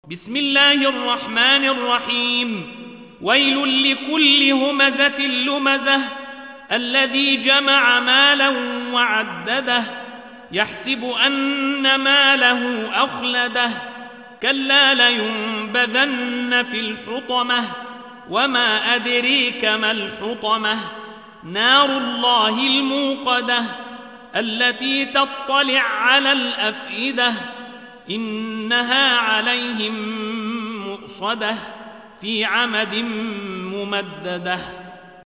بسم الله الرحمن الرحيم. ويل لكل همزة لمزة الذي جمع مالا وعدده يحسب أن ماله أخلده كلا لينبذن في الحطمة وما أدريك ما الحطمة نار الله الموقدة التي تطلع على الأفئدة إنها عليهم مؤصدة في عمد ممددة.